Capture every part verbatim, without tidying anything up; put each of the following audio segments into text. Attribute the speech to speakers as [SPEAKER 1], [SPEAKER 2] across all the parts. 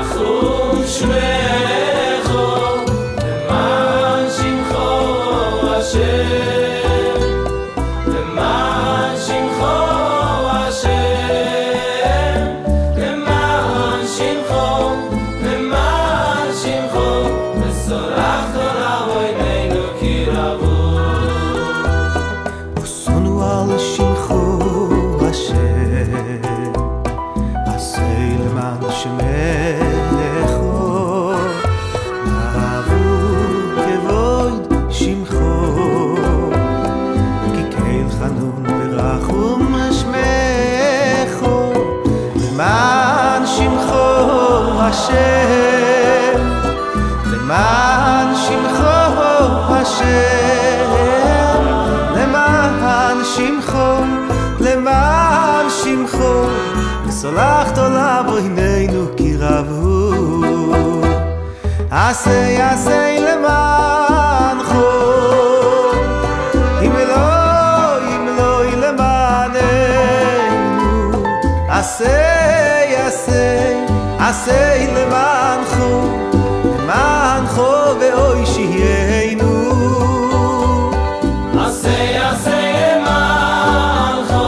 [SPEAKER 1] למען שמחו השם, למען שמחו, למען שמחו, וסולחת עליו עינינו כי רבו. עשה עשה למענכו, אם לא אם לא למעננו. עשה עשה עשה למענכו, למענכו ואוי שהיינו.
[SPEAKER 2] עשה עשה למענכו,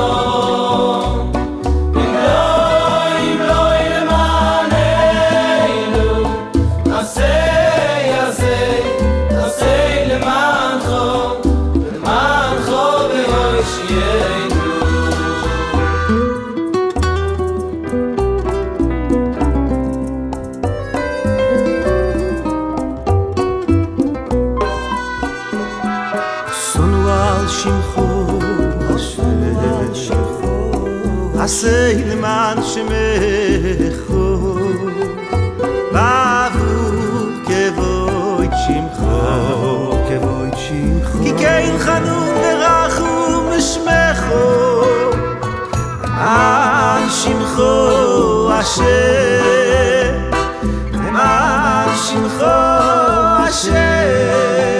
[SPEAKER 2] אם לא אם לא למעננו. עשה עשה עשה למענכו, למענכו ואוי שהיינו.
[SPEAKER 1] שמחו השם, עשה למען שמחו, בעבור כבוד שמחו, כי כן חנון ורחום שמחו, למען שמחו השם, למען שמחו השם.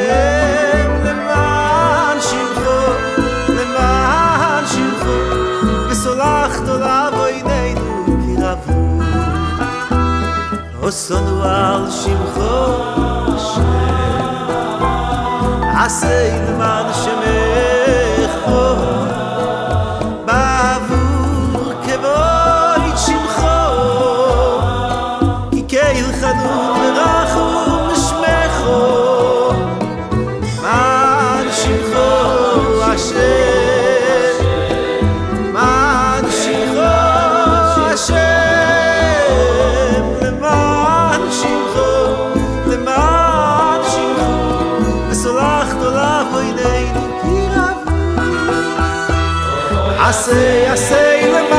[SPEAKER 1] וסנו על שמחו השם, עשה למען שמחו, בעבור כבוד שמחו, כי כן חנון ורחום שמחו, למען שמחו השם, למען שמחו השם. עשה עשה למען